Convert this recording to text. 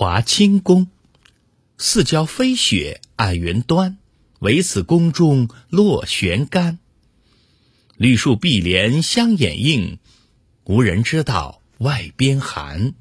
华清宫，四郊飞雪暗云端，唯此宫中落悬竿。绿树碧帘相掩映，无人知道外边寒。